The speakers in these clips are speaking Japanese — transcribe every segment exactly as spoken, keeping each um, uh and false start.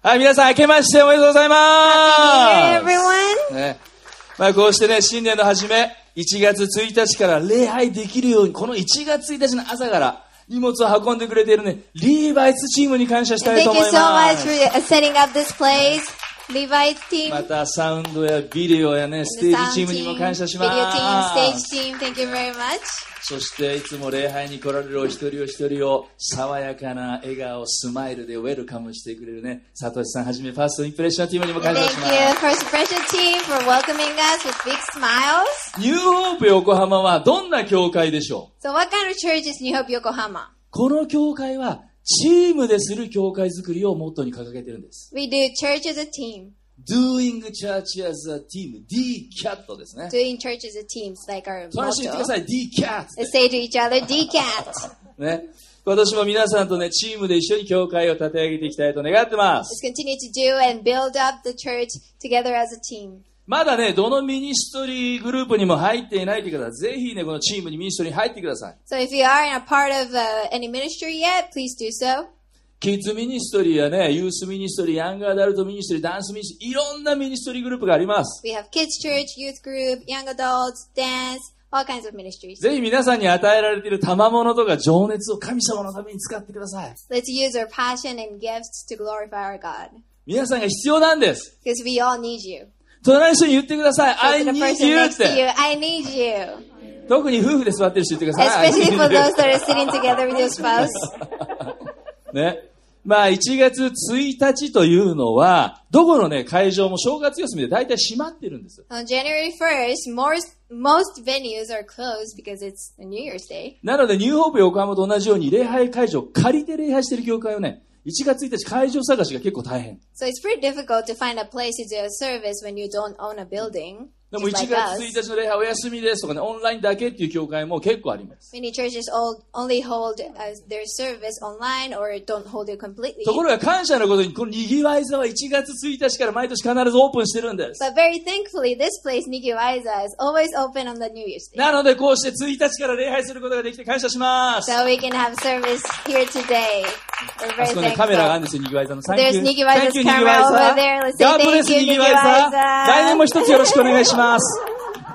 はい、皆さん明けましておめでとうございます。 Happy New Year, everyone. ね、まあこうしてね、新年の初め、いちがつついたちから礼拝できるように、このいちがつついたちの朝から荷物を運んでくれているね、リーバイツチームに感謝したいと思います。 Thank you so much for setting up this place, Levi's team. またサウンドやビデオやね、ステージチームにも感謝します。 Video team, stage team, thank you very much. そしていつも礼拝に来られるお一人お一人を爽やかな笑顔、スマイルでウェルカムしてくれるね、サトシさんはじめファーストインプレッションチームにも感謝します。 Thank you, First Impression team, for welcoming us with big smiles. ニューホープ横浜はどんな教会でしょう？ So what kind of church is New Hope Yokohama? この教会はチームでする教会づくりをモットーに掲げているんです。 We do church as a team.Doing church as a team. ディーキャット ですね。 Doing church as a team is like our motto. 話してください。ディーキャット。 Let's say to each other, ディーキャット。 ね。今年も皆さんとね、チームで一緒に教会を立て上げていきたいと願ってます。 Let's continue to do and build up the church together as a team. まだね、どのミニストリーグループにも入っていないという方は、ぜひね、このチームにミニストリーに入ってください。 So if you aren't a part of、uh, any ministry yet, please do so. キッズミニストリーやね、ユースミニストリー、ヤングアダルトミニストリー、ダンスミニストリー、いろんなミニストリーグループがあります。 We have kids church, youth group, young adults, dance, all kinds of ministries. ぜひ皆さんに与えられている賜物とか情熱を神様のために使ってください。 Let's use our passion and gifts to glorify our God. 皆さんが必要なんです。 Because we all need you. 隣の人に言ってください。I need you って。 I need you. 特に夫婦で座ってる人言ってください。 Especially for those that are sitting together with your spouse. ね。まあ、いちがつついたちというのは、どこのね、会場も正月休みで大体閉まってるんです。 On January first, most, most venues are closed because it's a New Year's Day. なので、ニューホープ横浜と同じように礼拝会場を借りて礼拝している教会をね、いちがつついたち会場探しが結構大変。 So it's pretty difficult to find a place to do a service when you don't own a building. でもいちがつついたちの礼拝お休みですとかね、オンラインだけっていう教会も結構あります。 Many churches all, only hold uh, their service online or don't hold it completely. ところが感謝のことに、このにぎわい座はいちがつついたちから毎年必ずオープンしてるんです。 But very thankfully, this place, Nigiwaiza, is always open on the New Year's Day. なのでこうしてついたちから礼拝することができて感謝します。 So we can have service here today. We're very あそこね、カメラがあるんですよ、にぎわい座の。 There's Nigiwaiza's camera over there. Let's say God bless thank you, にぎわい座。 Nigiwaiza. 来年も一つよろしくお願いします。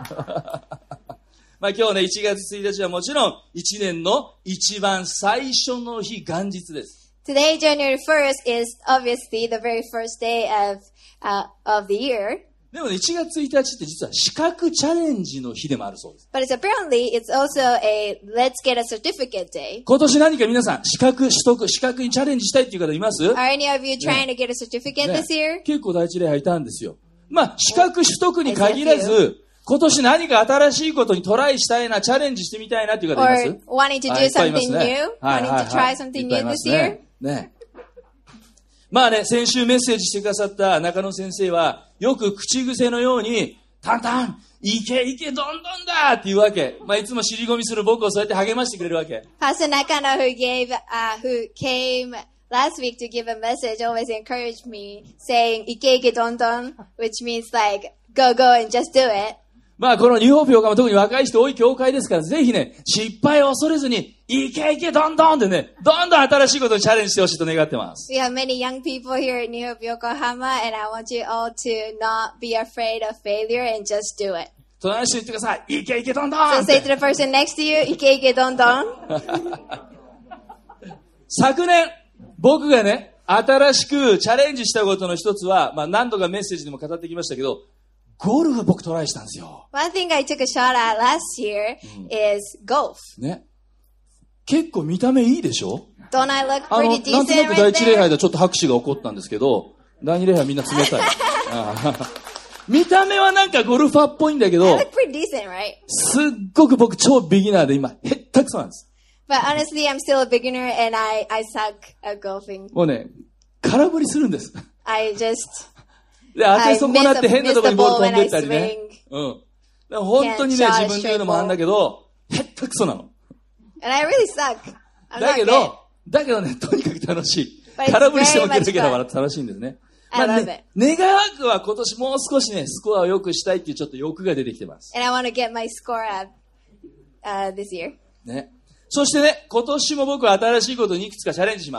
まあ今日ね、いちがつついたちはもちろんいちねんの一番最初の日、元日です。 Today, January first, is obviously the very first day of, uh, of the year. でもね、いちがつついたちって実は資格チャレンジの日でもあるそうです。 But it's apparently, it's also a let's get a certificate day. 今年何か皆さん、資格取得、資格にチャレンジしたいっていう方います？ Are any of you trying to get a certificate this year? 結構第一礼拝いたんですよ。まあ、資格取得に限らず、今年何か新しいことにトライしたいな、チャレンジしてみたいなっていう方います？ Or wanting to do something new? Wanting to try something new this year? ね。まあね、先週メッセージしてくださった中野先生は、よく口癖のように、タンタン、いけいけどんどんだっていうわけ。まあいつも尻込みする僕をそうやって励ましてくれるわけ。 Pastor Nakano, who gave, uh, who came last week to give a message, always encouraged me, saying, いけいけどんどん, which means like, go, go and just do it. まあこのニューホープ横浜特に若い人多い教会ですから、ぜひね、失敗を恐れずに、いけいけどんどんってね、どんどん新しいことにチャレンジしてほしいと願ってます。 We have many young people here at New Hope Yokohama, and I want you all to not be afraid of failure and just do it. 隣の人に言ってください。いけいけどんどん So say to the person next to you, いけいけどんどん。 昨年、僕がね、新しくチャレンジしたことの一つは、まあ何度かメッセージでも語ってきましたけど、ゴルフ僕トライしたんですよ。 One thing I took a shot at last year is golf. ね。結構見た目いいでしょ？ Don't I look あの、 pretty なんと decent なく第 right 一礼拝 there? でちょっと拍手が起こったんですけど、第二礼拝みんな冷たい。見た目はなんかゴルファーっぽいんだけ I ど、 look pretty decent, right? すっごく僕超ビギナーで今、へったくそなんです。 But honestly, I'm still a beginner and I, I suck at golfing. もうね、空振りするんです。 I just, で、当て損なって I 変なところにボール飛んでったり miss the ball when I ね。うん。でも本当にね、 Can't shot 自分で言うのもなんだけど、へったくそなの。 and I really suck. I'm だ not け good. ど、だけどね、とにかく楽しい。 But it's 空振りしても very ケラ much ケラ fun. 笑って楽しいんですね。 I まあ love ね it. 願わくは今年もう少しね、スコアを良くしたいっていうちょっと欲が出てきてます。 And I want to get my score up uh, this year. ね。そしてね、今年も僕は新しいことにいくつかチャレンジします。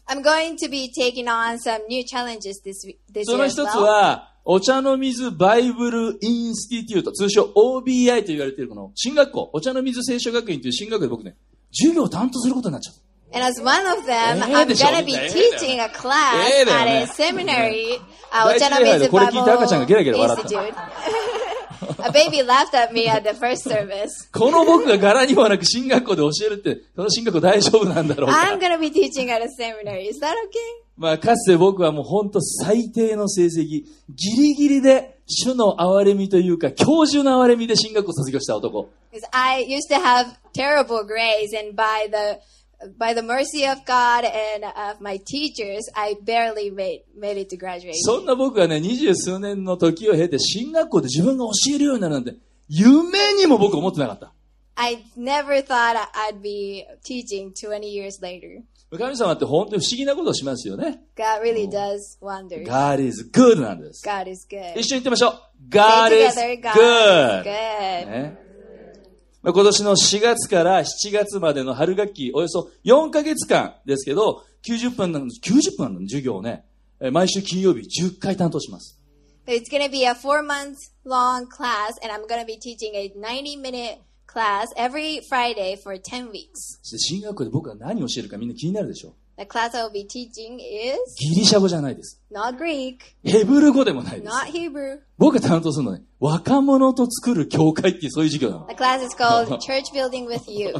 I'm going to be taking on some new challenges this, this そ year の as 一つ well. は、お茶の水バイブルインスティテュート、通称 オービーアイ と言われているこの進学校、お茶の水聖書学院という進学校で僕ね、授業を担当することになっちゃった。 And as one of them, Eh, I'm でしょ。 going to be ええだよね。 teaching a class ええだよ at ね。 a seminary, uh, 第一礼拝でこれ聞いて赤ちゃんがゲラゲラ笑った。 Institute. A baby laughed at me at the first service. この僕が柄にもなく進学校で教えるって、その進学校大丈夫なんだろう I'm か。 going to be teaching at a seminary. Is that okay? まあ、かつて僕はもう本当最低の成績、ギリギリで主の憐れみというか、教授の憐れみで進学校卒業した男。 Because I used to have terrible grades, and by the by the mercy of God and of my teachers, I barely made made it to graduation. そんな僕がね、二十数年の時を経て進学校で自分が教えるようになるなんて、夢にも僕思ってなかった。 I never thought I'd be teaching twenty years later. 神様って本当に不思議なことをしますよね。 God really does wonders. God is good なんです。 God is good. 一緒に言ってみましょう。God Say is together, God is good. good. ね、まあ今年のしがつからしちがつまでの春学期、およそよんかげつかんですけど、きゅうじゅっぷんなんです、きゅうじゅっぷんの授業をね、毎週金曜日じゅっかい担当します。 It's going to be a four month long class, and I'm going to be teaching a ninety minute class every Friday for ten weeks. そして進学校で僕が何を教えるかみんな気になるでしょ。 The class I will be teaching is ギリシャ語じゃないです。 not Greek, ヘブル語でもないです。 not Hebrew. 僕が担当するのはね、若者と作る教会っていうそういう授業なの。 The class is called Church Building with Youth.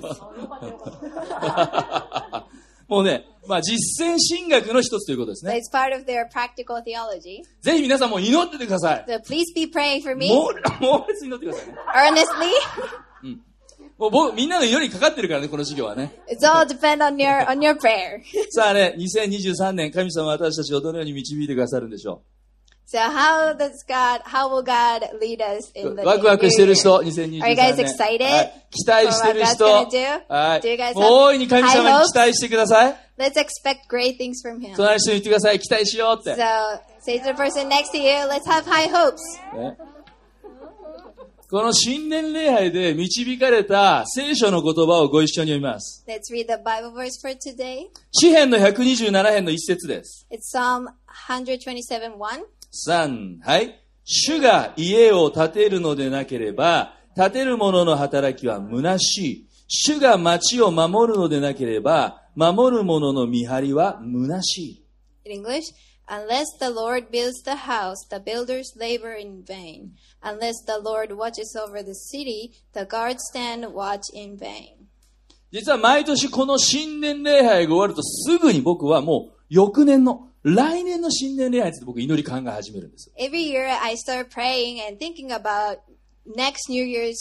もうね、まあ実践神学の一つということです So ね。 it's part of their practical theology. ぜひ皆さんも祈っててください。 So please be praying for me もう、もう別に祈ってくださいね。 earnestly. もう僕、みんなの祈りにかかってるからね、この授業はね。 It's all depend on your on your prayer. さあね、にせんにじゅうさんねん、神様は私たちをどのように導いてくださるんでしょ So how does God, how will God lead us う。 in the ワクワク new してる year? 人、にせんにじゅうさん Are you ねん。 guys excited はい期待してる人、 for what God's gonna do? はい Do you guys have もう大いに神様 high に期待してください。 Let's expect great things from Him. 隣の人に言ってください、期待しようって。 So say to the person next to you, let's have high hopes. ねこの新年礼拝で導かれた聖書の言葉をご一緒に読みます。 Let's read the Bible verse for today. 詩編のひゃくにじゅうなな編の一節です。 It's Psalm one twenty-seven one. さん、はい。主が家を建てるのでなければ、建てる者の働きは虚しい。主が町を守るのでなければ、守る者の見張りは虚しい。 In English, unless the Lord builds the house, the builders labor in vain. Unless the Lord watches over the city, the guards stand watch in vain. 実は毎年この新年礼拝が終わるとすぐに僕はもう翌年の来年の新年礼拝について僕祈り考え始めるんです。 Every year I start praying and thinking about next New Year's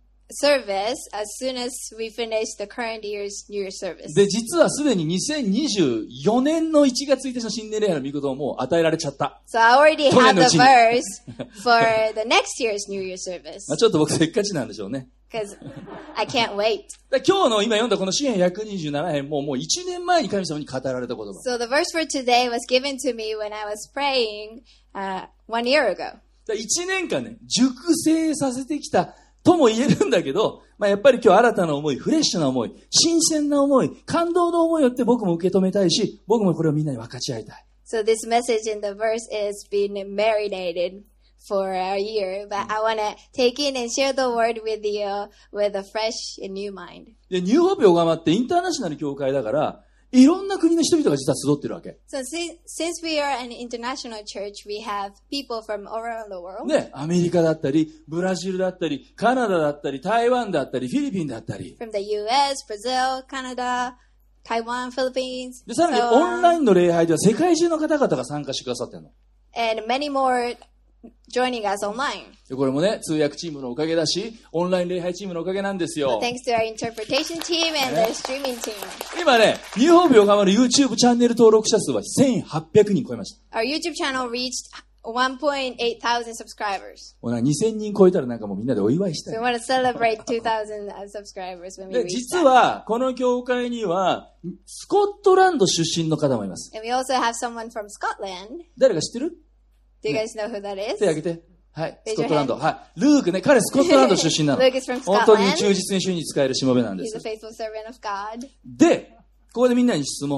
service as soon as we finish the current year's New Year's service. で、実はすでににせんにじゅうよねんのいちがつついたちの新年礼拝の御言葉も与えられちゃった。 So I already 去年 have のう the ちに verse for the next year's New Year's service まあちょっと僕せっかちなんでしょうね。 because I can't wait. だ今日の今読んだこの詩編ひゃくにじゅうなな編ももういちねんまえに神様に語られた言葉。 So the verse for today was given to me when I was praying uh, one year ago. だいちねんかんね、熟成させてきたとも言えるんだけど、まあやっぱり今日新たな思い、フレッシュな思い、新鮮な思い、感動の思いをって僕も受け止めたいし、僕もこれをみんなに分かち合いたい。 So this message in the verse is being marinated for a year, but I want to take in and share the word with you with a fresh and new mind. で、ニューホープ横浜ってインターナショナル教会だから、いろんな国の人々が実は集ってるわけ。 So since, since we are an international church, we have people from all around the world. ね、アメリカだったり、ブラジルだったり、カナダだったり、台湾だったり、フィリピンだったり。 From the U S, Brazil, Canada, Taiwan, Philippines. で、さらに so オンライ on. ンの礼拝では世界中の方々が参加してくださってるの。 And many more joining us online. で、これもね、通訳チームのおかげだし、オンライン礼拝チームのおかげなんですよ。 Thanks to our interpretation team and the streaming team. 今ね、ニューホープ横浜の YouTube チャンネル登録者数はせんはっぴゃくにん超えました。 Our YouTube channel reached one point eight thousand subscribers. もうなにせんにん超えたらなんかもうみんなでお祝いした So い we。want to celebrate two thousand subscribers when we で、 reach 実 that. は、この教会には、スコットランド出身の方もいます。 And we also have someone from Scotland. 誰か知ってる？ Do you guys know who that 手 is? 挙げて。はい。 Raise スコ your ットランド。 hand. はい。ルークね、彼スコットランド出身なの。 Luke is from 本当に Scotland. 忠実に主に使えるしもべなんで He's す a。faithful servant of God. で、ここでみんなに質問。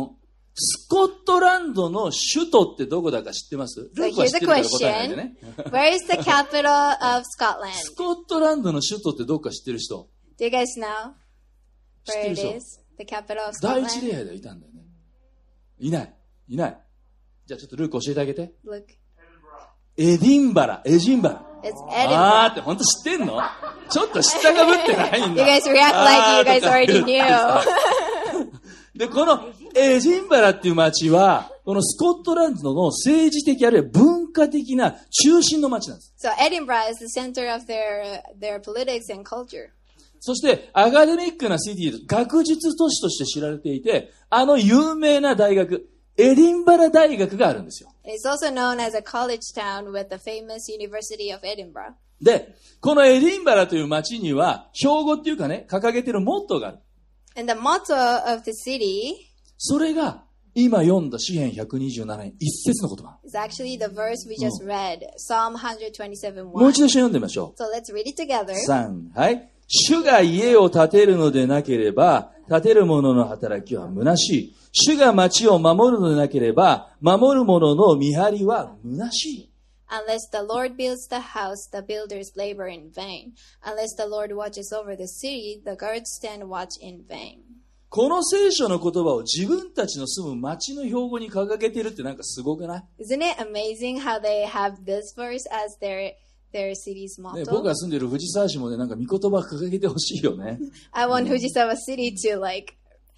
スコットランドの首都ってどこだか知ってます？ So ルークは here's 知っ a てるから答えないで question. ね。 Where is the capital of ス Scotland? コットランドの首都ってどこか知ってる人？ Do you guys know 知って where る it 人？ is? The capital of 第一 Scotland? 礼拝でいたんだよね。いない。いない。じゃあちょっとルーク教えてあげて。 Look, エディンバラ、エジンバラ。 it's あー Edinburgh. って本当知ってんの？ちょっと知ったかぶってないん You だ。 guys react like you guys already knew. で、このエジンバラっていう町は、このスコットランドの政治的あるいは文化的な中心の町なんです。 So Edinburgh is the center of their their politics and culture. そしてアカデミックなシティ、学術都市として知られていて、あの有名な大学、エディンバラ大学があるんですよ。 It's also known as a college town with the famous University of Edinburgh. で、このエディンバラという町には、標語っていうかね、掲げてるモットーがある。 And the motto of the city それが、今読んだ詩編ひゃくにじゅうなな編一節の言葉。 is actually the verse we just read, Psalm one twenty-seven もう one. 一度読んでみましょ So let's read it together. う。さん、はい。主が家を建てるのでなければ、建てる者の働きは虚しい。主が町を守るのでなければ、守る者の見張りは虚しい。 Unless the Lord builds the house, the builders labor in vain. Unless the Lord watches over the city, the guards stand watch in vain. この聖書の言葉を自分たちの住む町の標語に掲げてるってなんかすごくない？ Isn't it amazing how they have this verse as their their city's ね、 motto? 僕が住んでる藤沢市もね、なんか御言葉掲げてほしいよね。 I want Fujisawa City to like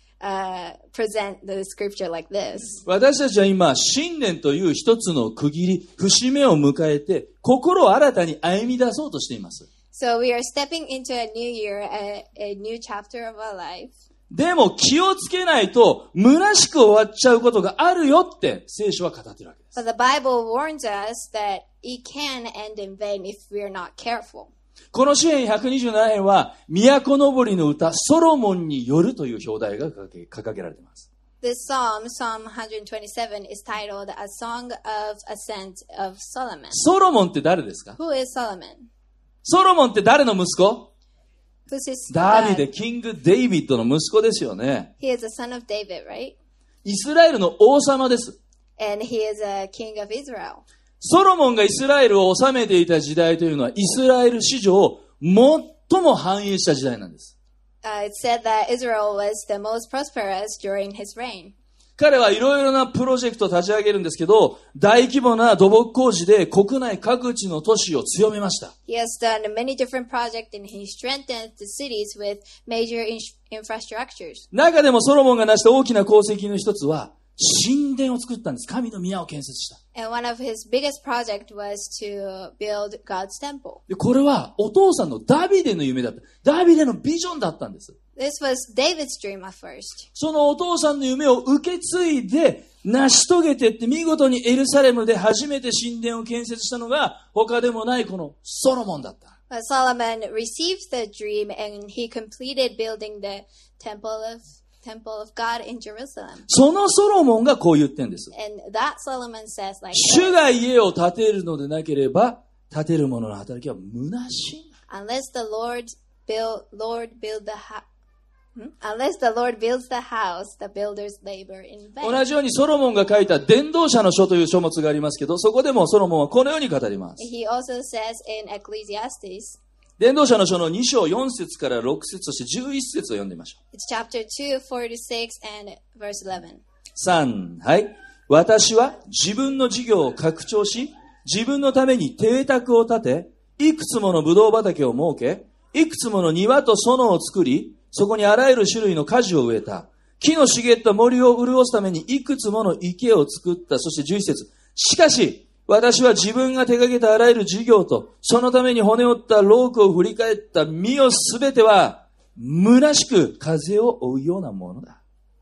uh, present the scripture like this. 私たちは今、新年という一つの区切り、節目を迎えて、心を新たに歩み出そうとしています。 So we are stepping into a new year, a, a new chapter of our life. でも気をつけないと、虚しく終わっちゃうことがあるよって聖書は語ってるわけです。 But the Bible warns us that it can end in vain if we are not careful. この詩編ひゃくにじゅうなな編は、都のぼりの歌、ソロモンによるという表題が掲げ掲げられています。 This psalm, Psalm one twenty-seven, is titled A Song of Ascent of Solomon. ソロモンって誰ですか？ Who is Solomon? ソロモンって誰の息子？ Who's his ダビ son? デ、キング・デイビッドの息子ですよね。 He is a son of David, right? イスラエルの王様です。 And he is a king of Israel. ソロモンがイスラエルを治めていた時代というのは、イスラエル史上最も繁栄した時代なんです。 Uh, it said that Israel was the most prosperous during his reign. 彼はいろいろなプロジェクトを立ち上げるんですけど、大規模な土木工事で国内各地の都市を強めました。 He has done many different projects and he strengthened the cities with major in- infrastructures. 中でもソロモンが成した大きな功績の一つは、神殿を作ったんです。神の宮を建設した。 And one of his biggest projects was to build God's temple. で、これはお父さんのダビデの夢だった。ダビデのビジョンだったんです。 This was David's dream at first. そのお父さんの夢を受け継いで成し遂げてって見事にエルサレムで初めて神殿を建設したのが他でもないこのソロモンだった。 But Solomon received the dream and he completed building the temple of temple of God in Jerusalem. そのソロモンがこう言ってんです。 And that Solomon says like 主が家を建てるのでなければ建てる者の働きは虚しい。 unless the Lord build Lord build the house. Hmm? Unless the Lord builds the house, the builders labor in vain. 同じようにソロモンが書いた伝道者の書という書物がありますけど、そこでもソロモンはこのように語ります。 He also says in Ecclesiastes, 伝道者の書のに章よん節からろく節そしてじゅういち節を読んでみましょう。 it's chapter two, forty-six and verse eleven. さん、はい。私は自分の事業を拡張し、自分のために邸宅を建て、いくつものブドウ畑を設け、いくつもの庭と園を作り、そこにあらゆる種類の果樹を植えた。木の茂った森を潤すためにいくつもの池を作った。そしてじゅういち節。しかし、私は自分が手掛けたあらゆる事業と、そのために骨折ったロークを振り返った身をすべては、虚しく風を追うようなものだ。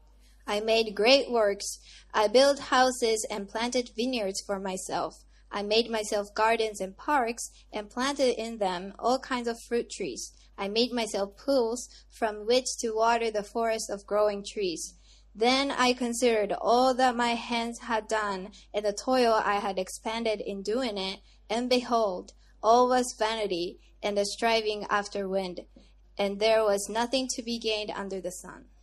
I made great works. I built houses and planted vineyards for myself. I made myself gardens and parks and planted in them all kinds of fruit trees. I made myself pools from which to water the forest of growing trees. Then I considered all that my hands had done and the toil I had expended in doing it, and behold, all was vanity and the striving after wind, and there was nothing to be gained under the sun.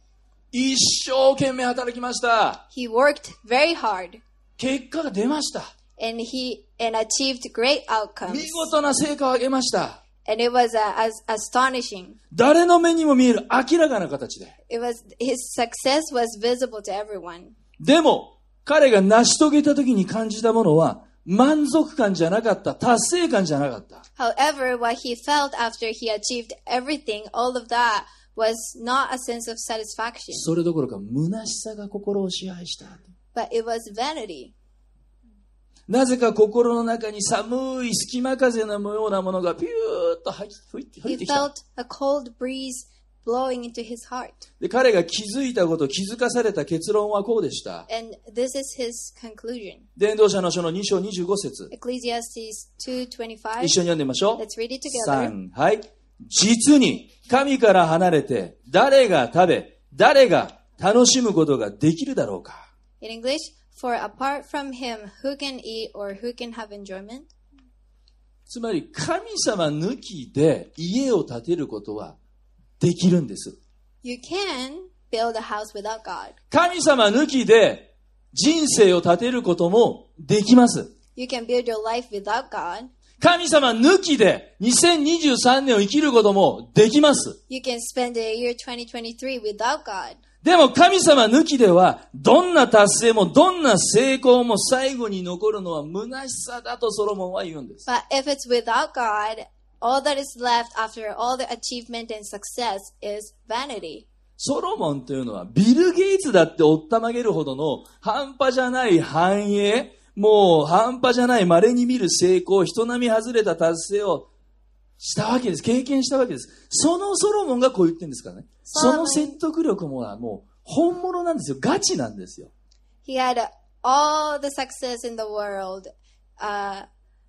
一生懸命働きました。 He worked very hard. 結果が出ました。 And he and achieved great outcomes. 見事な成果を上げました。 And it was uh, as astonishing. 誰の目にも見える明らかな形で。 It was his success was visible to everyone. でも彼が成し遂げた時に感じたものは満足感じゃなかった、達成感じゃなかった。 However, what he felt after he achieved everything, all of that was not a sense of satisfaction. それどころか虚しさが心を支配した。 But it was vanity. なぜか心の中に寒い隙間風のようなものがピューッと吹いて吹いて He きた。 felt a cold breeze blowing into his heart. で、彼が気づいたこと、気づかされた結論はこうでした。 And this is his conclusion. 伝道者の書のに章にじゅうご節。 Ecclesiastes two twenty-five. 一緒に読んでみましょう。 Let's read it together. さん、はい。実に神から離れて誰が食べ、誰が楽しむことができるだろうか。 In English, for apart from him, who can eat or who can have enjoyment? つまり神様抜きで家を建てることはできるんです。 You can build a house without God. 神様抜きで人生を建てることもできます。 You can build your life without God. 神様抜きでにせんにじゅうさんねんを生きることもできます。 You can spend the year twenty twenty-three without God. でも神様抜きではどんな達成もどんな成功も最後に残るのは虚しさだとソロモンは言うんです。 But if it's without God, all that is left after all the achievement and success is vanity. ソロモンというのはビル・ゲイツだっておったまげるほどの半端じゃない繁栄、もう半端じゃない稀に見る成功、人並み外れた達成をしたわけです。経験したわけです。そのソロモンがこう言ってるんですからね。その説得力ももう本物なんですよ。ガチなんですよ。 He had all the success in the world, uh,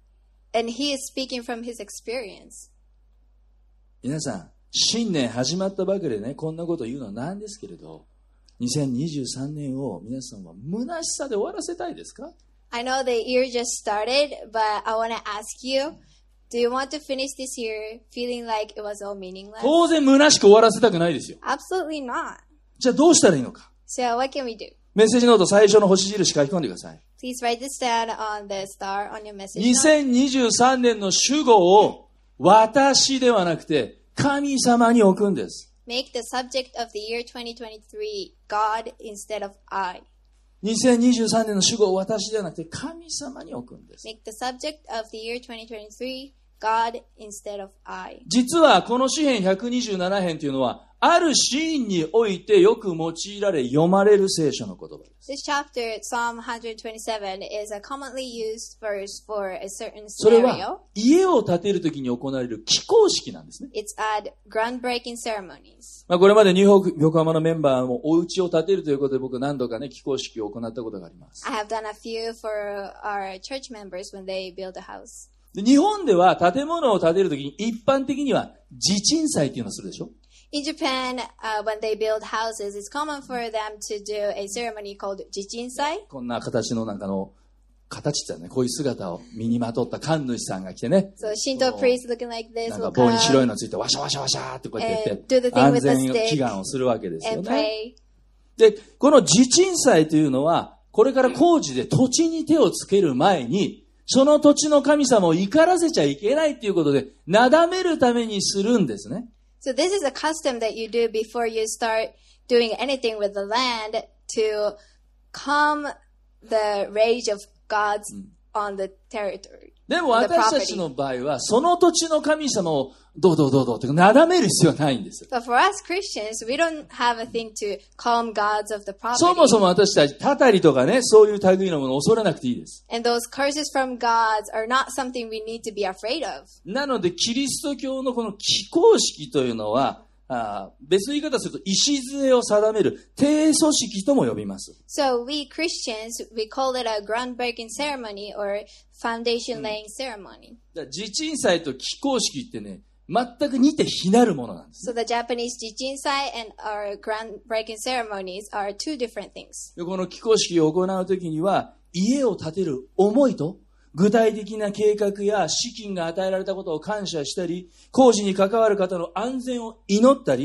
and he is speaking from his experience. 皆さん、新年始まったばかりでね、こんなこと言うのはなんですけれど、にせんにじゅうさんねんを皆さんは虚しさで終わらせたいですか？ I know the year just started, but I want to ask you, do you want to finish this year feeling like it was all meaningless? 当然虚しく終わらせたくないですよ。 Absolutely not. じゃあどうしたらいいのか。 So what can we do? メッセージノート最初の星印書き込んでください。 Please write this down on the star on your message に note. せんにじゅうさんねんの主語を私ではなくて神様に置くんです。 Make the subject of the year twenty twenty-three God instead of I. にせんにじゅうさんねんの主語を私ではなくて神様に置くんです。 Make the subject of the year twenty twenty-three God instead of I. 実はこの詩編ひゃくにじゅうなな編というのはあるシーンにおいてよく用いられ読まれる聖書の言葉です。 This chapter, Psalm one twenty-seven, is a commonly used verse for a certain それ scenario. は家を建てるときに行われる起工式なんですね。 It's at groundbreaking ceremonies. まあこれまでニューヨーク横浜のメンバーもお家を建てるということで僕何度かね起工式を行ったことがあります。 I have done a few for our church members when they build a house. で日本では建物を建てるときに一般的には地鎮祭っていうのをするでしょ。 In Japan, uh, when they build houses, it's common for them to do a ceremony called jichinsai. こんな形のなんかの形ってね、こういう姿を身にまとった神主さんが来てね。 So Shinto priests looking like this なんか will 棒に白い come のついてワシャワシャワシャってこうやってやっ and do て the thing 安 with the 全 stick 祈願をするわけですよ and ね。 pray. で、この地鎮祭というのはこれから工事で土地に手をつける前にその土地の神様を怒らせちゃいけないということでなだめるためにするんですね。 So this is a custom that you do before you start doing anything with the land to calm the rage of gods on the territory. でも私たちの場合はその土地の神様をどうどうどうどうってなだめる必要はないんです。 But for us Christians, we don't have a thing to calm gods of the property. そもそも私たちたたりとかね、そういう類のものを恐れなくていいです。 And those curses from gods are not something we need to be afraid of. なのでキリスト教のこの起工式というのはあ別の言い方をすると礎を定める定組織とも呼びます。 So we Christians, we call it a groundbreaking ceremony or foundation laying ceremony. だから地鎮祭と起工式ってね、全く似て非なるものなんです。 So the Japanese jichinsai and our groundbreaking ceremonies are two different things. でこの起工式を行うときには家を建てる思いと具体的な計画や資金が与えられたことを感謝したり、工事に関わる方の安全を祈ったり、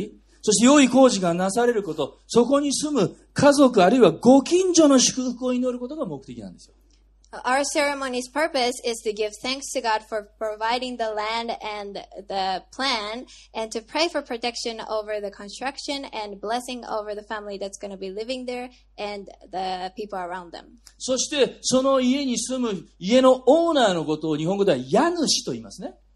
そして良い工事がなされること、そこに住む家族あるいはご近所の祝福を祈ることが目的なんですよ。 Our ceremony's purpose is to give thanks to God for providing the land and the plan, and to pray for protection over the construction and blessing over the family that's going to be living there and the people around them. そしてその家に住む家のオーナーのことを日本語では家主と言いますね。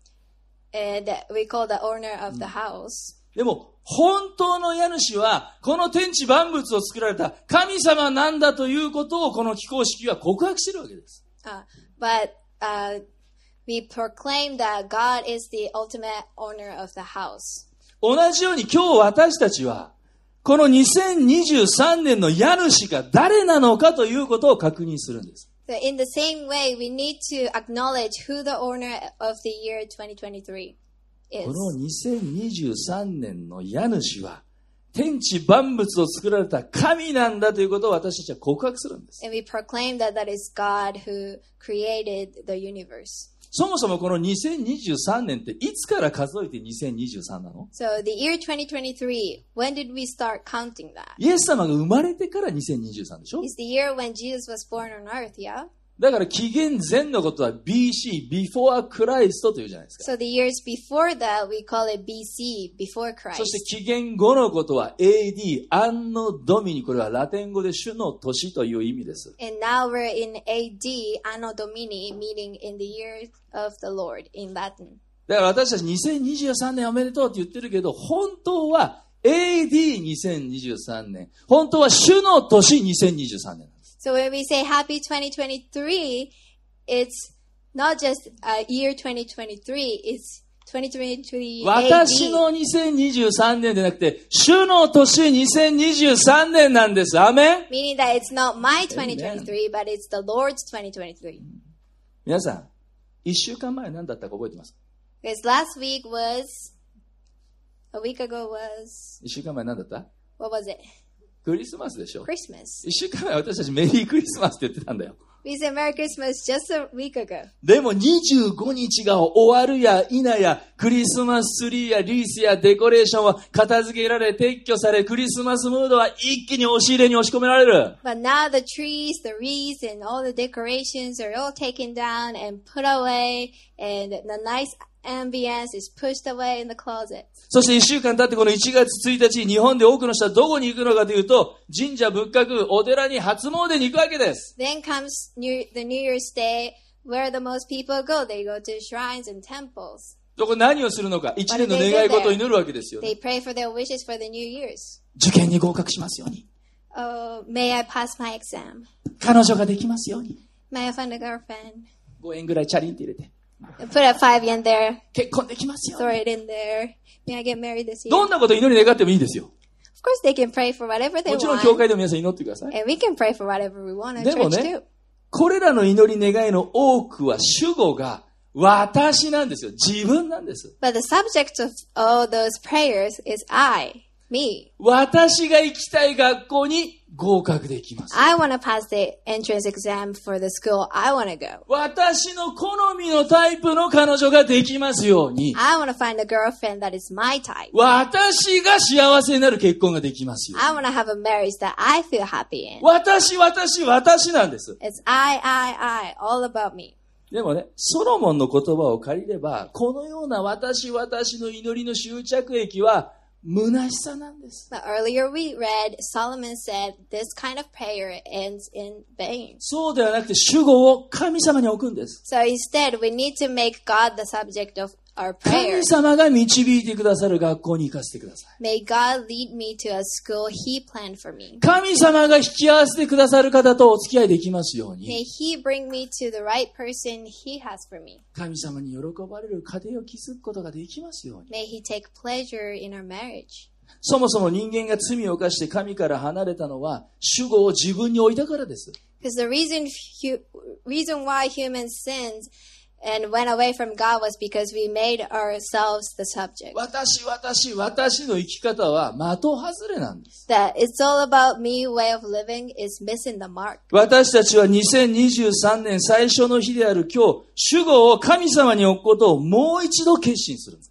And we call the owner of the house. でも本当の家主はこの天地万物を作られた神様なんだということをこの起工式は告白しているわけです。 Uh, but uh, we proclaim that God is the ultimate owner of the house. 同じように今日私たちはこのにせんにじゅうさんねんの家主が誰なのかということを確認するんです。 So in the same way, we need to acknowledge who the owner of the year twenty twenty-three is. このにせんにじゅうさんねんの家主は天地万物を作られた神なんだということを私たちは告白するんです。 And we proclaim that that is God who created the universe. そもそもこのにせんにじゅうさんねんっていつから数えてにせんにじゅうさんなの？ So the year twenty twenty-three, when did we start counting that? イエス様が生まれてからにせんにじゅうさんでしょ？ It's the year when Jesus was born on earth, yeah? だから紀元前のことは ビーシー、before Christ というじゃないですか。 So the years before that, we call it B C, before そして Christ. 紀元後のことは エーディー、アンノドミニ、これはラテン語で主の年という意味です。 And now we're in A D, Anno Domini, meaning in the year of the Lord in Latin. だから私たちにせんにじゅうさんねんおめでとうって言ってるけど、本当は エーディーにせんにじゅうさんねん。本当は主の年にせんにじゅうさんねんなんです。 So when we say happy twenty twenty-three, it's not just uh, year twenty twenty-three, it's twenty twenty-three 私のにせんにじゅうさんねんでなくて、主の年にせんにじゅうさんねんなんです。アメン。 Meaning that it's not my twenty twenty-three, but it's the Lord's twenty twenty-three. 皆さん、一週間前何だったか覚えてますか？ Because last week was, a week ago was, 一週間前何だった？ what was it? クリスマスでしょ。 Christmas. 一週間前私たちメリークリスマスって言ってたんだよ。 We said Merry Christmas just a week ago. でもにじゅうごにちが終わるや否や、クリスマスツリーやリースやデコレーションは片付けられ、撤去され、クリスマスムードは一気に押し入れに押し込められる。 But now the trees, the wreaths, and all the decorations are all taken down and put away, and the nice ambience is pushed away in the closet. そして一週間経ってこのいちがつついたち、日本で多くの人はどこに行くのかというと、神社仏閣、お寺に初詣に行くわけです。 Then comes New, the New Year's Day, where the most people go. They go to shrines and temples. そこ何をするのか、一年の願い事を祈るわけですよ、ね。 They pray for their wishes for the New Year's. 受験に合格しますように。 Oh, may I pass my exam? 彼女ができますように。 May I find a girlfriend? ごえんぐらいチャリンって入れて。 Put a five yen there. 結婚できますように。 Throw it in there. May I get married this year? どんなこと祈り願ってもいいですよ。 Of course, they can pray for whatever they もちろん教 want. 会でも皆さん祈ってください。 And we can pray for whatever we want in でも church ね too. これらの祈り願いの多くは主語が私なんですよ。自分なんです。 But the subject of all those prayers is I, me. 私が行きたい学校に合格できます。 I want to pass the entrance exam for the school I want to go. 私の好みのタイプの彼女ができますように。 I want to find a girlfriend that is my type. 私が幸せになる結婚ができますように。 I want to have a marriage that I feel happy in. 私、私、私なんです。 It's I, I, I, all about me. でもね、ソロモンの言葉を借りれば、このような私、私の祈りの終着駅は、虚しさなんです。 But earlier we read, Solomon said, this kind of prayer ends in vain. そうではなくて、主語を神様に置くんです。 So instead, we need to make God the subject of our prayer. 神様が導いてくださる学校に行かせてください。 May God lead me to a school He planned for me. 神様が引き合わせてくださる方とお付き合いできますよう May に。 He bring me to the right person He has for me. 神様に喜ばれる家庭を築くことができますように。 May He take pleasure in our marriage. そもそも人間が罪を犯して神から離れたのは、主語を自分に置いたからです。 Because the reason, hu- reason why humans sinned and went away from God was because we made ourselves the subject. 私、私、私の生き方は的外れなんです。 That it's all about me way of living is missing the mark. 私たちはにせんにじゅうさんねん最初の日である今日、主語を神様に置くことをもう一度決心するんです。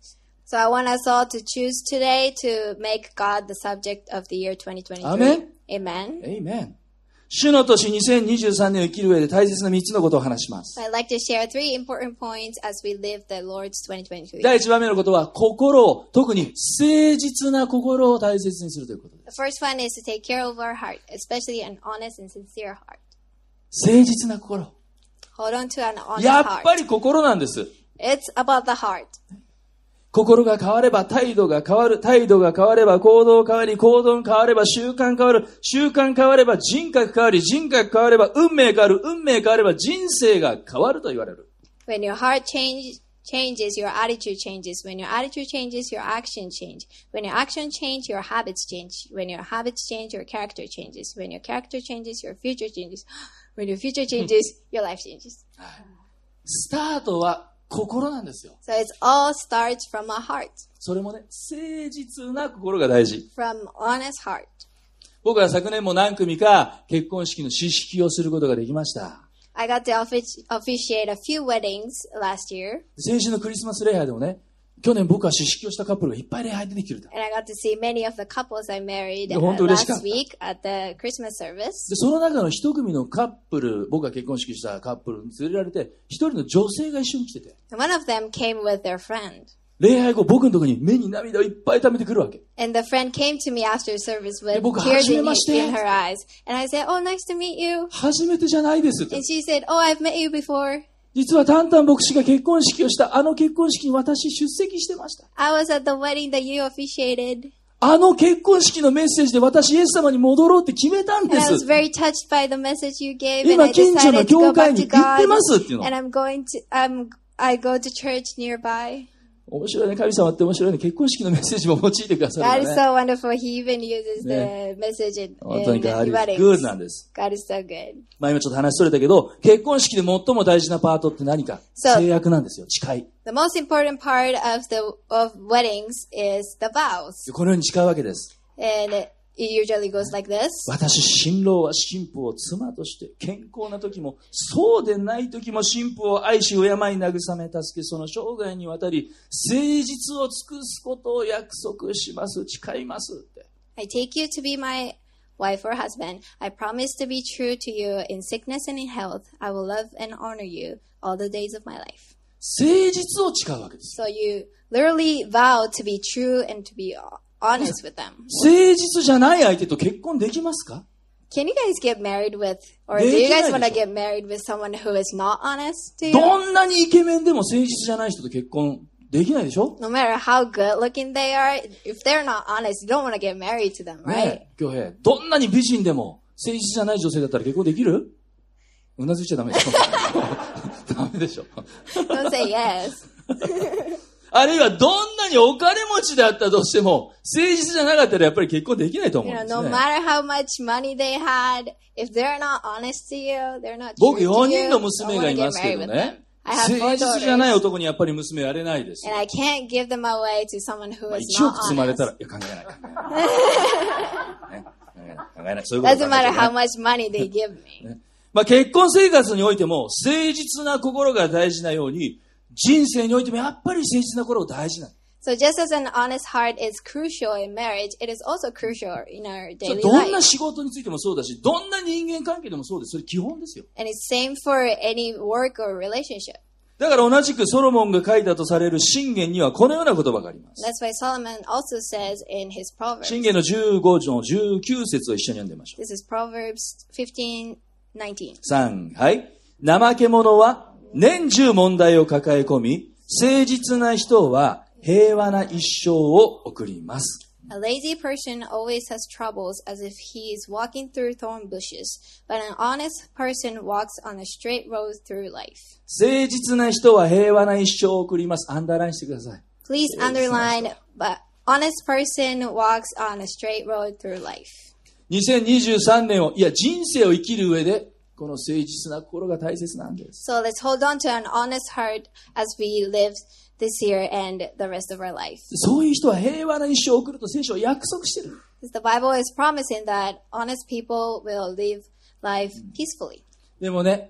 So I want us all to choose today to make God the subject of the year twenty twenty-three. Amen. Amen. Amen. 主の年にせんにじゅうさんねんを生きる上で大切なみっつのことを話します。 So I'd like to share three important points as we live the Lord's twenty twenty-three. 第一番目のことは、心を、特に誠実な心を大切にするということです。 The first one is to take care of our heart, especially an honest and sincere heart. 誠実な心。 Hold on to an honest やっ heart. ぱり心なんです。 It's about the heart. 心が変われば態度が変わる。態度が変われば行動変わり。行動変われば習慣変わる。習慣変われば人格変わり。人格変われば運命変わる。運命変われば人生が変わると言われる。 When your heart change, changes, your attitude changes. When your attitude changes, your action change. When your action change, your habits change. When your habits change, your character changes. When your character changes, your future changes. When your future changes, your life changes. スタートは心なんですよ。 So it all starts from a heart. それもね、誠実な心が大事。 From honest heart. 僕は昨年も何組か結婚式の指式をすることができました。 I got to offic- officiate a few weddings last year. 先週のクリスマス礼拝でもね、去年僕は指式をしたカップルがいっぱい礼拝出てきてる。 And I got to see many of the couples I married 本当 uh, 嬉しかった。 last week at the Christmas service. で、その中の一組のカップル、僕が結婚式したカップルに連れられて、一人の女性が一緒に来てて。 And one of them came with their friend. 礼拝後、僕のところに目に涙をいっぱい溜めてくるわけ。 And the friend came to me after service with で、僕、 tears 初め in, まして。 in her eyes. And I said, oh, nice to meet you. 初めてじゃないですって。 And she said, oh, I've met you before. 実はタンタン牧師が結婚式をしたあの結婚式に私出席してました。 I was at the wedding that you officiated. あの結婚式のメッセージで私イエス様に戻ろうって決めたん And で I was す。 very touched by the message you gave. And 今 I 近所の decided to 教 go 会 back に to 行って God. ますっていうの。 And I'm going to, um, I go to church nearby. 面白いね。神様って面白いね。結婚式のメッセージも用いてくださ God る is んだね。 so wonderful. He even uses the message in, 本当に in God is weddings. good なんです。 God is so good. まあ今ちょっと話それたけど、結婚式で最も大事なパートって何か？ So- 制約なんですよ。誓い。 The most important part of the of weddings is the vows. このように誓うわけです。 And it usually goes like this. 私、新郎は新婦を妻として、健康な時も、そうでない時も新婦を愛し、敬い、慰め、助け、その生涯にわたり、誠実を尽くすことを約束します。誓いますって。 I take you to be my wife or husband. I promise to be true to you in sickness and in health. I will love and honor you all the days of my life. 誠実を誓うわけです。 So you literally vow to be true and to be honest with them. 誠実じゃない相手と結婚できますか？ Can you guys get married with, or do you guys want to get married with someone who is not honest to you? どんなにイケメンでも誠実じゃない人と結婚できないでしょ？ No matter how good looking they are, if they're not honest, you don't want to get married to them, right? ねえ、恭平。どんなに美人でも誠実じゃない女性だったら結婚できる？うなずいちゃダメでしょ。ダメでしょ。 Don't say yes. あるいはどんなにお金持ちであったとしても、誠実じゃなかったらやっぱり結婚できないと思う You ん know, です no ね。 matter how much money they had, if they're not honest to you, they're not 僕 true よ to に you, んの don't 娘 want が to いま get すけ married ど with ね them.。I have 誠 four 実じゃない daughters, 男にやっぱり娘やれないです and。I can't give them away to someone who まあ、 is 一 not 億積まれた honest. ら、いや、考えない、考えない。ね考えない、考えない。そういうこと Doesn't 考え matter て how ね much money they give me. まあ、結婚生活においても、誠実な心が大事なように、人生においてもやっぱり誠実な心が大事なの。 So just as an honest heart is crucial in marriage, it is also crucial in our それ daily どんな life. 仕事についてもそうだし、どんな人間関係でもそうです。それ基本ですよ。 And it's same for any work or relationship. だから同じくソロモンが書いたとされる箴言にはこのような言葉があります。 That's why Solomon also says in his Proverbs. 箴言のじゅうご章じゅうきゅう節を一緒に読んでみましょう。 This is Proverbs fifteen nineteen. さん、はい。怠け者は年中問題を抱え込み、誠実な人は平和な一生を送ります。 A lazy person always has troubles as if he is walking through thorn bushes, but an honest person walks on a straight road through life. 誠実な人は平和な一生を送ります。アンダーラインしてください。 Please underline, but honest person walks on a straight road through life. にせんにじゅうさんねんを、いや人生を生きる上で、この誠実な心が大切なんです。 So let's hold on to an honest heart as we live this year and the rest of our life. そういう人は平和な一生を送ると聖書は約束してる。 Because the Bible is promising that honest people will live life peacefully. でもね、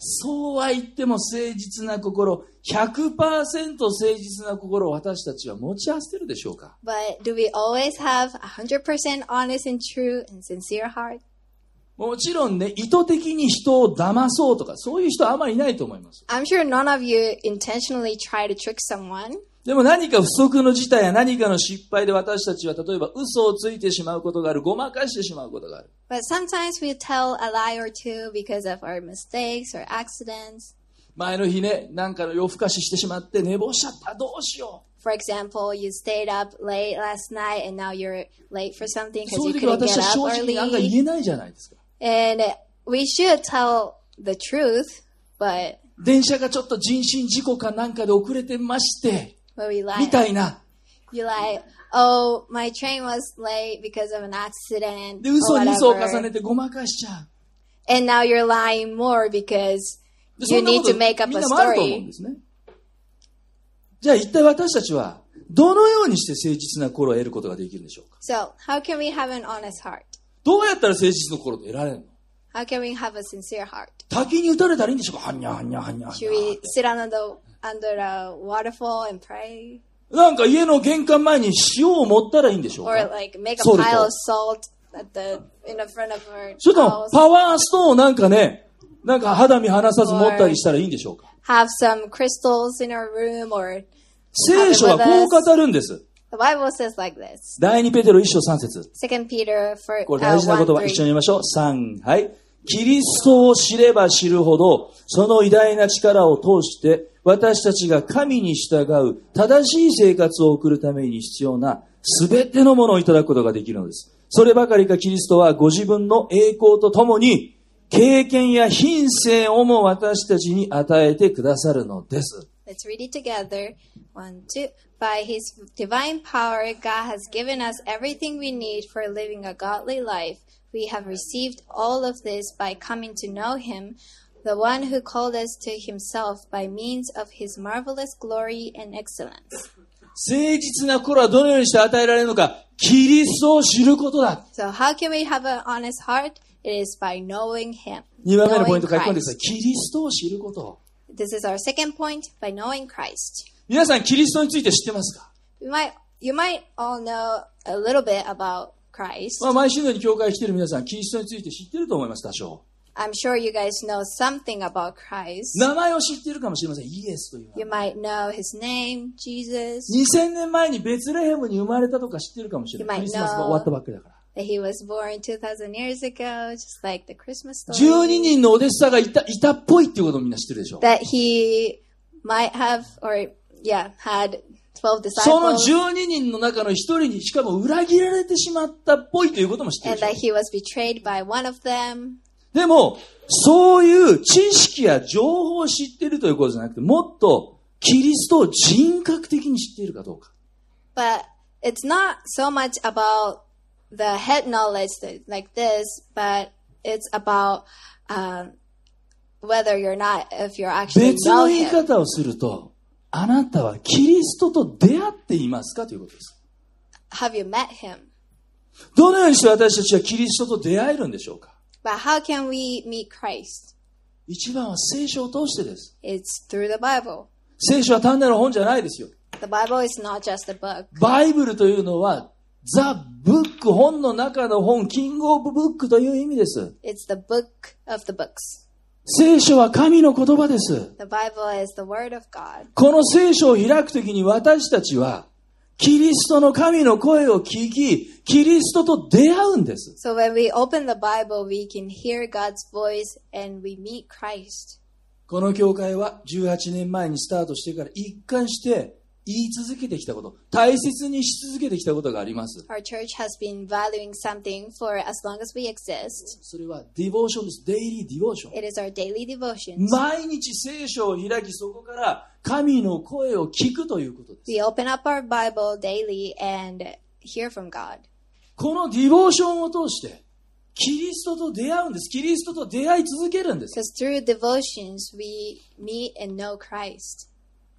そうは言っても誠実な心、ひゃくパーセント 誠実な心を私たちは持ち合わせてるでしょうか？ But do we always have one hundred percent honest and true and sincere heart? もちろんね、意図的に人を騙そうとか、そういう人はあまりいないと思います。 I'm sure none of you intentionally try to trick someone. でも何か不測の事態や何かの失敗で私たちは例えば嘘をついてしまうことがある、ごまかしてしまうことがある。 But sometimes we tell a lie or two because of our mistakes or accidents. 前の日ね、なんかの夜更かししてしまって寝坊しちゃった、どうしよう。 For example, you stayed up late last night and now you're late for something そ because ういう you 時 couldn't 私 get は正 up 直に案外 early. 言えないじゃないですか。 And we should tell the truth, but 電車がちょっと人身事故かなんかで遅れてまして、 but we み lie. たいな。 You lie, oh, my train was late because of an accident で、 or 嘘に嘘を重 whatever. ねてごまかしちゃう。 And now you're lying more because でそ you んなこ need と to make up みん a なもあると思うん story. ですね。じゃあ一体私たちはどのようにして誠実な心を得ることができるんでしょうか？ So, how can we have an honest heart? どうやったら誠実の心を得られるの？ How can we have a sincere heart? 滝に打たれたらいいんでしょうか？はんにゃはんにゃはんにゃはんに Should ゃ we sit under the under a waterfall and pray, なんか家の玄関前に塩を持ったらいいんでしょう or か？ like make a ソルト。 pile of salt at the in the front of our それとも house? パワーストーンをなんかね、なんか肌身離さず持ったりしたらいいんでしょうか？ Have some crystals in our room, or 聖書はこう語るんです。 the Bible says like this. 第二ペテロ一章三節。 Second Peter for これ uh, 大事な言 one 葉、一緒 three. に言いましょう。三、はい。キリストを知れば知るほど、その偉大な力を通して、私たちが神に従う正しい生活を送るために必要なすべてのものをいただくことができるのです。そればかりかキリストはご自分の栄光とともに、経験や品性をも私たちに与えてくださるのです。 Let's read it together. One, two. By His divine power, God has given us everything we need for living a godly life. We have received all of this by coming to know Him, the one who called us to Himself by means of His marvelous glory and excellence. 誠実な心はどのようにして与えられるのか、キリストを知ることだ。 So how can we have an honest heart? It is by knowing Him. 二番目のポイン Knowing ト書き込んでください。 Christ. キリストを知ること。 This is our second point, by knowing Christ. 皆さん、キリストについて知ってますか？ You might, you might all know a little bit about Christ. まあ、毎週のように教会に来ている皆さん、キリストについて知っていると思います、多少。 I'm sure you guys know something about Christ. 名前を知っているかもしれません。イエスという You 名前。 might know His name, Jesus. にせんねんまえにベツレヘムに生まれたとか知っているかもしれない。 You might クリスマスが終わったばっかりだから。 That He was born two thousand years ago, just like the Christmas じゅうに story. 人のお弟子さんがいた、いたっぽいっていうことをみんな知ってるでしょ。 That He might have, or yeah, had twelve その disciples. じゅうに人の中の一人にしかも裏切られてしまったっぽいということも知ってる And で that しょ。 He was betrayed by one of them. でも、そういう知識や情報を知っているということじゃなくて、もっとキリストを人格的に知っているかどうか。 But it's not so much about the head knowledge that, like this, but it's about um, whether you're not, if you're actually 別の know 言い Him. 方をすると、あなたはキリストと出会っていますかということです。 Have you met Him? どのようにして私たちはキリストと出会えるんでしょうか？ But how can we meet Christ? 一番は聖書を通してです。 It's through the Bible. 聖書は単なる本じゃないですよ。 The Bible is not just a book. バイブルというのは、ザ・ブック、本の中の本、キング・オブ・ブックという意味です。 It's the book of the books. 聖書は神の言葉です。 The Bible is the Word of God. この聖書を開くときに私たちは、キリストの神の声を聞き、キリストと出会うんです。 So when we open the Bible, we can hear God's voice and we meet Christ. この教会はじゅうはちねんまえにスタートしてから一貫して言い続けてきたこと、大切にし続けてきたことがあります。 Our church has been valuing something for as long as we exist. それはディボーションです。デイリーディボーション。 It is our daily devotions. 毎日聖書を開き、そこから神の声を聞くということです。 We open up our Bible daily and hear from God. このディボーションを通して、キリストと出会うんです。キリストと出会い続けるんです。 Because through devotions, we meet and know Christ.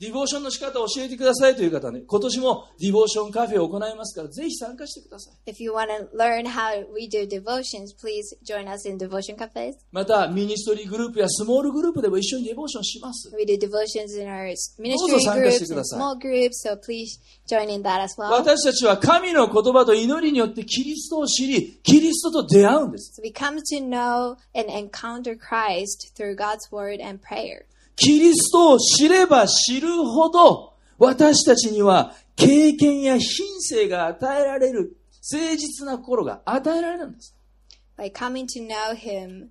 ディボーションの仕方を教えてくださいという方ね、今年もディボーションカフェを行いますから、ぜひ参加してください。 If you want to learn how we do devotions, please join us in devotion cafes. また、ミニストリーグループやスモールグループでも一緒にディボーションします。 We do devotions in our どう ministry ぞ参加して groups くだ and さい。 small groups, so please join in that as well. 私たちは神の言葉と祈りによってキリストを知り、キリストと出会うんです。 So we come to know and encounter Christ through God's word and prayer. キリストを知れば知るほど、私たちには経験や品性が与えられる、誠実な心が与えられるんです。 By coming to know Him,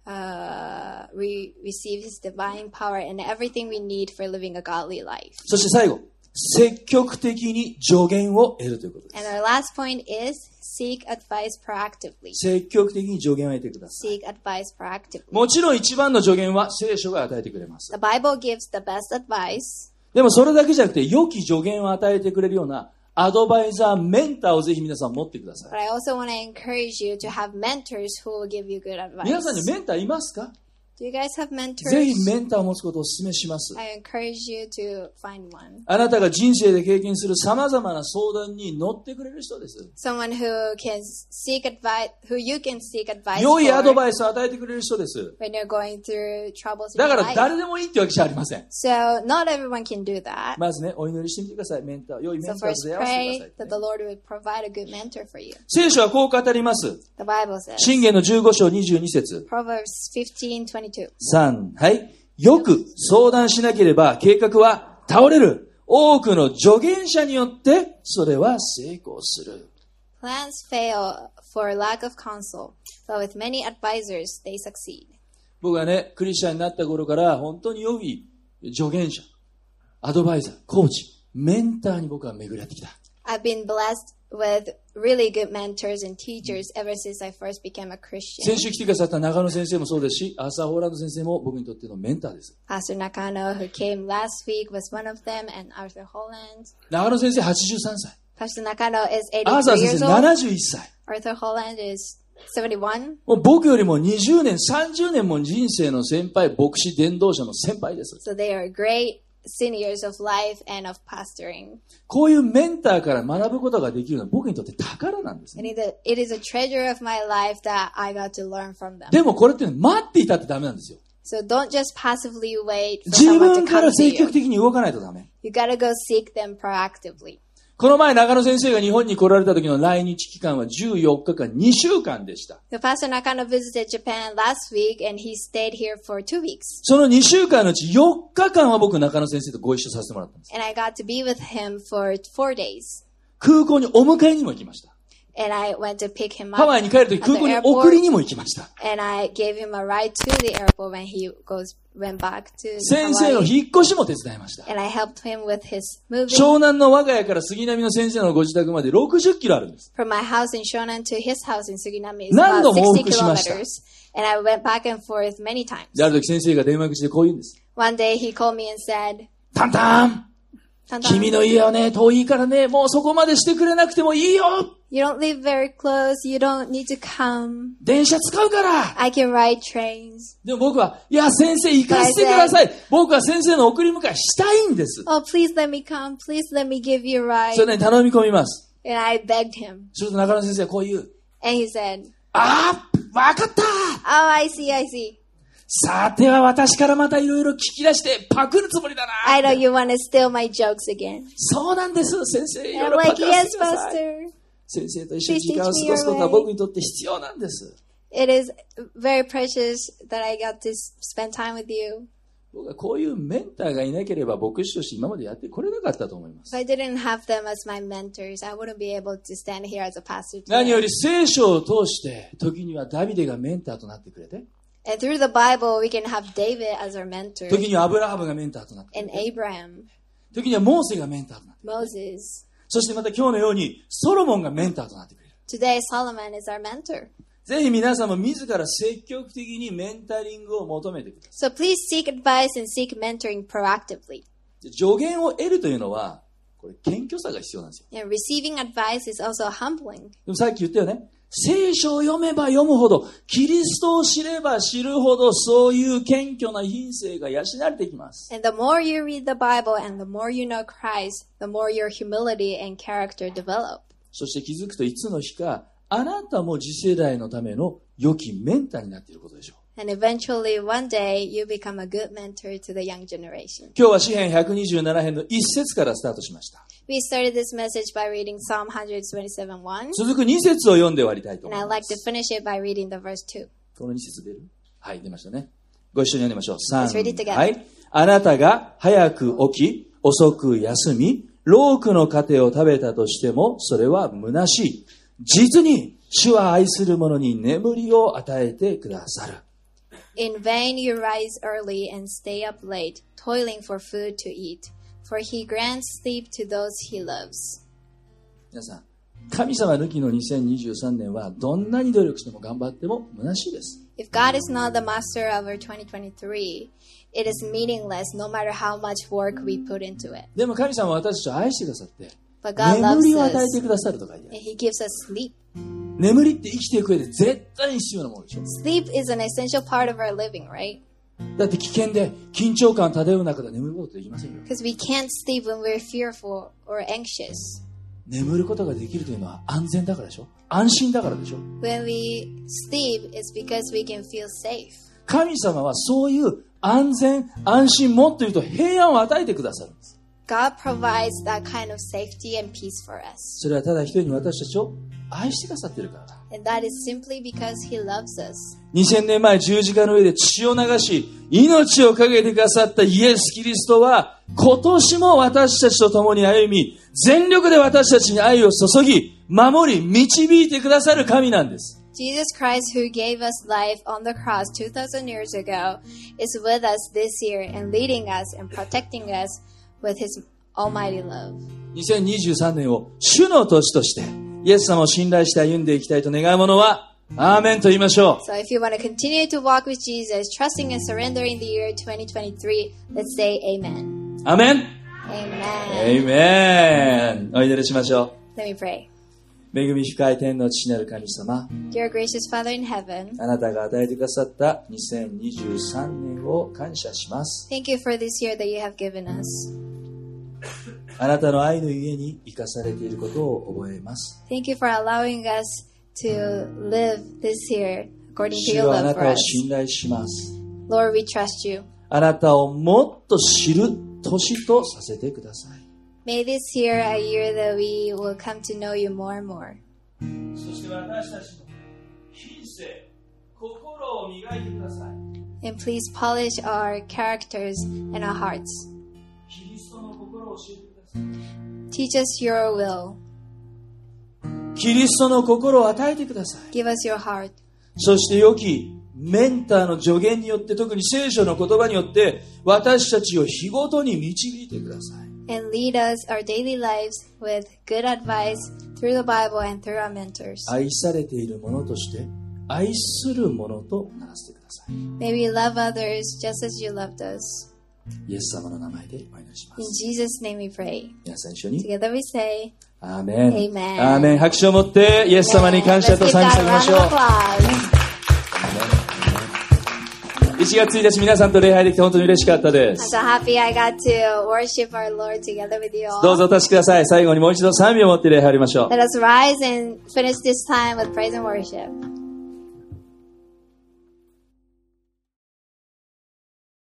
uh, we receive His divine power and everything we need for living a godly life. そして最後、積極的に助言を得るということです。 And our last point is seek advice proactively. 積極的に助言を得てください。 Seek advice proactively. もちろん一番の助言は聖書が与えてくれます。 The Bible gives the best advice. でもそれだけじゃなくて、良き助言を与えてくれるようなアドバイザー、メンターをぜひ皆さん持ってください。 But I also want to encourage you to have mentors who will give you good advice. 皆さんにメンターいますか？ Do you guys have mentors? ぜひメンターを持つことをお勧めします。 I encourage you to find one. あなたが人生で経験する様々な相談に乗ってくれる人です。 Someone who can seek advice, who you can seek advice 良いアド for バイスを与えてくれる人です。 when you're going through troubles in だか your ら life. 誰でもいいってわけじゃありません。 So not everyone can do that. まずね、お祈りしてみてください。メンター、良いメン So ターと first 出会わせて pray ください、 that the Lord would provide a good mentor for you. 聖書はこう語ります。 The Bible says, 箴言のじゅうご章にじゅうに節。 Proverbs fifteen twenty-two. さん、はい。よく相談しなければ計画は倒れる。多くの助言者によってそれは成功する。 Plans fail for lack of counsel, but with many advisors they succeed. 僕はね、クリスチャンになった頃から本当に良い助言者、アドバイザー、コーチ、メンターに僕は巡り合ってきた。 I've been blessed with really good mentors and teachers ever since I first became a Christian. 先週来てくださった中野先生もそうですし、アーサー・ホーランド先生も僕にとってのメンターです。 Pastor Nakano, who came last week, was one of them, and Arthur Holland. 中野先生はちじゅうさんさい。 Pastor Nakano is アーサー eighty-three 先 years 生 old. ななじゅういっさい。 Arthur Holland is seventy-one. もう僕よりもにじゅうねん、さんじゅうねんも人生の先輩、牧師伝道者の先輩です。 So they are great seniors of life and of pastoring. こういうメンターから学ぶことができるのは僕にとって宝なんです And ね。 it is a treasure of my life that I got to learn from them. でもこれって待っていたってダメなんですよ。 So don't just passively wait for 自 someone 分 to から come to 積極 you. 的に動かないとダメ。 You gotta go seek them proactively. この前中野先生が日本に来られた時の来日期間はじゅうよっかかん、にしゅうかんでした。 So Pastor Nakano visited Japan last week and he stayed here for two weeks. そのにしゅうかんのうちよっかかんは僕中野先生とご一緒させてもらったんです。 And I got to be with him for four days. 空港にお迎えにも行きました。 And I went to pick him ハ up ワイに帰る時 at the 空港に送り airport. にも行きました。 And I gave him a ride to the airport when he goes went back to 先生の Hawaii. 引っ越しも手伝いました。 And I helped him with his moving 湘南の我が家から杉並の先生のご自宅までろくじゅっキロあるんです。 from my house in Shonan to his house in Suginami is 何 about 度も往 sixty 復しました。 kilometers. And I went back and forth many times. で、ある時先生が電話口でこう言うんです。 One day he called me and said, タンタン Tantan, 君の家はね、遠いからね、もうそこまでしてくれなくてもいいよ you don't live very close. You don't need to come. 電車使うから I can ride trains. でも僕は、いや、先生行かせてください。僕は先生の送り迎えしたいんです。 Oh, please let me come. Please let me give you a そ ride. れね、頼み込みます。 And I begged him. すると中野先生はこう言う。 And he said, ああ、わかった Oh, I see, I see. さては私からまたいろいろ聞き出してパクるつもりだな。 I know you want to steal my jokes again. そうなんです、先生。い And ろ I'm いろパ like, クらせ yes, てください。 Pastor. 先生と一緒に時間を過ごすことは僕にとって必要なんです。 It is very precious that I got to spend time with you. 僕はこういうメンターがいなければ牧師として今までやってこれなかったと思います。 If I didn't have them as my mentors, I wouldn't be able to stand here as a pastor 何よ today. り聖書を通して時にはダビデがメンターとなってくれて、 And through the Bible, we can have David as our mentor 時にはアブラハムがメンターとなってくれ and て、 Abraham, 時にはモーセがメンターとなってくれて、 Moses. そしてまた今日のようにソロモンがメンターとなってくれる。 Today, Solomon is our mentor. ぜひ皆さんも自ら積極的にメンタリングを求めてくださ So please seek advice and seek mentoring proactively. い。助言を得るというのは、これ謙虚さが必要なんですよ。 And receiving advice is also humbling. でもさっき言ったよね。 聖書を読めば読むほど、キリストを知れば知るほど、そういう謙虚な品性が養われてきます。 And the more you read the Bible and the more you know Christ, the more your humility and character develop. そして気づくといつの日か、あなたも次世代のための良きメンターになっていることでしょう。 And eventually, one day, you become a good mentor to the young generation. 今日は詩編ひゃくにじゅうなな編の一節からスタートしました。 We started this message by reading Psalm one twenty-seven one. 続くに節を読んで終わりたいと And 思 I'd いま like to す。 finish it by reading the verse two. このに節出る？はい、出ましたね。ご一緒に読んでみましょう。さん、 Let's read it together. はい。あなたが早く起き、遅く休み、労苦の糧を食べたとしても、それは虚しい。実に、主は愛する者に眠りを与えてくださる。 In vain you rise early and stay up late, toiling for food to eat, for he grants sleep to those he loves. 皆さん、神様抜きのにせんにじゅうさんねんはどんなに努力しても頑張っても虚しいです。 If God is not the master of our twenty twenty-three, it is meaningless no matter how much work we put into it. でも神様は私たちを愛してくださって、 But God 眠 loves りを与え us てくださると書いてあ and る。 he gives us sleep. 眠りって生きていく上で絶対に必要なものでしょ。 Sleep is an essential part of our living, right? だって危険で緊張感漂う中で眠ることできませんよ。 Because we can't sleep when we're fearful or anxious. 眠ることができるというのは安全だからでしょ。安心だからでしょ。 When we sleep, it's because we can feel safe. 神様はそういう安全安心、もっと言うと平安を与えてくださるんです。 God provides that kind of safety and peace for us. それはただ一人に私たちを愛してくださっているからだ。 And that is simply because he loves us. にせんねんまえ十字架の上で血を流し、命をかけてくださったイエス・キリストは、今年も私たちと共に歩み、全力で私たちに愛を注ぎ、守り、導いてくださる神なんです。 Jesus Christ, who gave us life on the cross two thousand years ago, is with us this year and leading us and protecting us with his almighty love. にせんにじゅうさんねんを主の年として、イエス様を信頼して歩んでいきたいと願う者は、アーメンと言いましょう。 So if you want to continue to walk with Jesus, trusting and surrendering the year twenty twenty-three, let's say amen. アーメン。 Amen. アーメン。お祈りしましょう。 Let me pray. 恵み深い天の父なる神様、 Dear gracious Father in heaven, あなたが与えてくださったにせんにじゅうさんねんを感謝します。 thank you for this year that you have given us. あなたの愛のゆえに生かされていることを覚えます。 Thank you for allowing us to live this year according to 主 your はあ love な for たを us. 信頼します。 Lord, we trust you. あなたをもっと知る年とさせてください。 May this year a year that we will come to know you more and more. そして私たちの品性、心を磨いてください。 And please polish our characters and our hearts. キリストの心を教えてください。 Teach us your will. キリストの心を与えてください。 Give us your heart. そして良きメンターの助言によって、特に聖書の言葉によって私たちを日ごとに導いてください。 And lead us our daily lives with good advice through the Bible and through our mentors. 愛されているものとして愛するものとならせてください。 May we love others just as you loved us. イエス様の名前でお祈りしま In す。 Jesus' name we pray. 皆さん一緒に Together we say, アーメン。 Amen. アーメン。拍手を持ってイエス様に感謝と Let's give 賛美 God し a まし round ょ of う。 applause. いちがつついたち皆さんと礼拝できて本当に嬉しかったで I'm す。 so happy I got to worship our Lord together with you どう all. ぞお立ちください。最後にもう一度賛美を持って礼拝をりましょう。 Let us rise and finish this time with praise and worship.